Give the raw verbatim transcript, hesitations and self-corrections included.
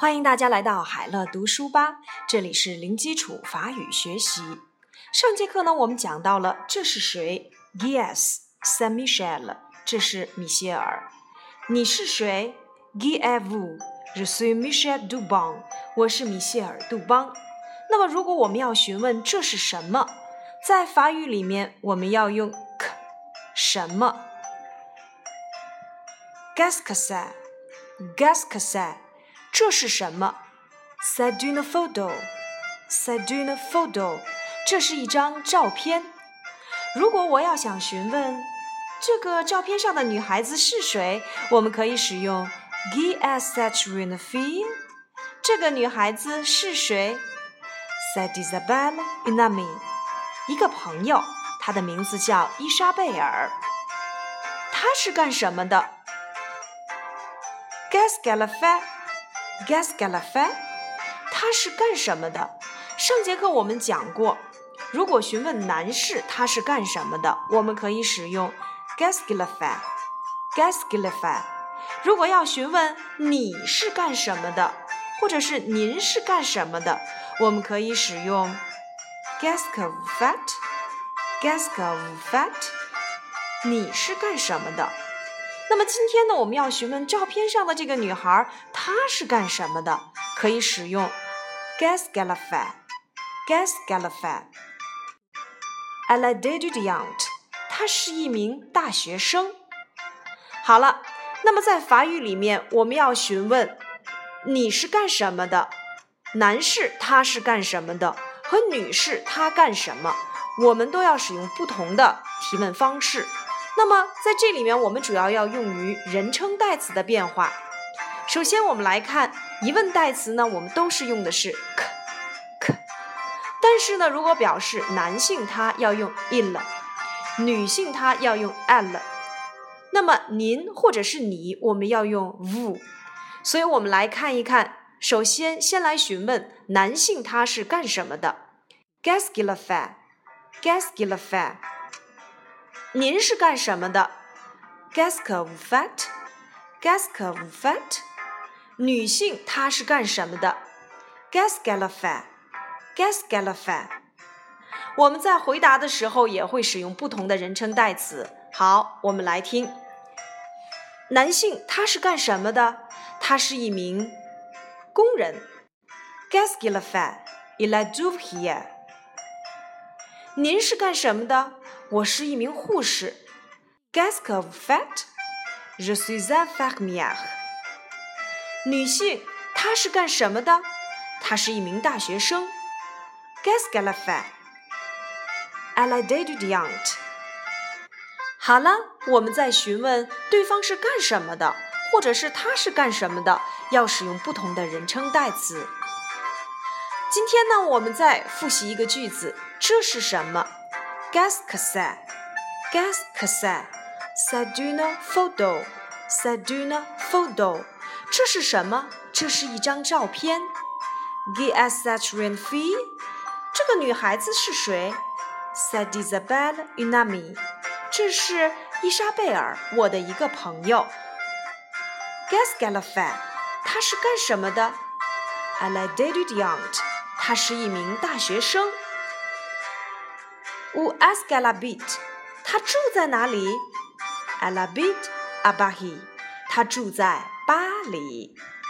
欢迎大家来到海乐读书吧，这里是零基础法语学习。上节课呢，我们讲到了这是谁 ？Qui est Saint Michel？ 这是米歇尔。你是谁 ？Qui êtes-vous？ Je suis Michel Dubon。我是米歇尔·杜邦。那么，如果我们要询问这是什么，在法语里面我们要用 que 什么 ？Qu'est-ce que c'est？Qu'est-ce que c'est？这是什么 ？C'est une photo. C'est une photo. 这是一張照片。如果我要想詢問這個照片上的女孩子是誰，我們可以使用 Qui est cette jeune fille？ 這個女孩子是誰 ？C'est Isabelle, une amie. 一個朋友，她的名字叫伊莎貝爾。她是幹什麼的 ？Qu'est-ce qu'elle fait？Qu'est-ce qu'elle fait？ 他是干什么的？上节课我们讲过，如果询问男士他是干什么的，我们可以使用 Qu'est-ce qu'il fait？Qu'est-ce qu'il fait？ 如果要询问你是干什么的，或者是您是干什么的，我们可以使用 Qu'est-ce que vous faites？Qu'est-ce que vous faites？ 你是干什么的？那么今天呢，我们要询问照片上的这个女孩，她是干什么的？可以使用 Qu'est-ce qu'elle fait？Qu'est-ce qu'elle fait？ Elle est étudiante， 她是一名大学生。好了，那么在法语里面，我们要询问你是干什么的？男士他是干什么的？和女士她干什么？我们都要使用不同的提问方式。那么在这里面我们主要要用于人称代词的变化。首先我们来看疑问代词呢，我们都是用的是 que que， 但是呢如果表示男性他要用 il， 女性他要用 elle， 那么您或者是你我们要用 vous。 所以我们来看一看，首先先来询问男性他是干什么的 Qu'est-ce qu'il fait？Qu'est-ce qu'il fait？您是干什么的 Qu'est-ce que vous faites？Qu'est-ce que vous faites？ 女性她是干什么的 Qu'est-ce qu'elle fait？Qu'est-ce qu'elle fait？ 我们在回答的时候也会使用不同的人称代词。好，我们来听。男性他是干什么的？他是一名工人 Qu'est-ce qu'il fait？Il est ouvrier。您是干什么的？我是一名护士 Qu'est-ce que vous faites？Je suis infirmière。 女性她是干什么的？她是一名大学生 Qu'est-ce qu'elle fait？Elle est étudiante。 好了，我们在询问对方是干什么的，或者是他是干什么的，要使用不同的人称代词。今天呢，我们再复习一个句子，这是什么？ Qu'est-ce que c'est？Qu'est-ce que c'est？C'est une photo. C'est une photo. 这是什么？这是一张照片。Qui est cette jeune fille？ 这个女孩子是谁？ C'est Isabelle, une amie. 这是伊莎贝尔，我的一个朋友。Qu'est-ce qu'elle fait？ 她是干什么的？ Elle est étudiante. 她是一名大学生。Où est-ce qu'elle habite？ 她住在哪里？ Elle habite à Paris。 她住在巴黎。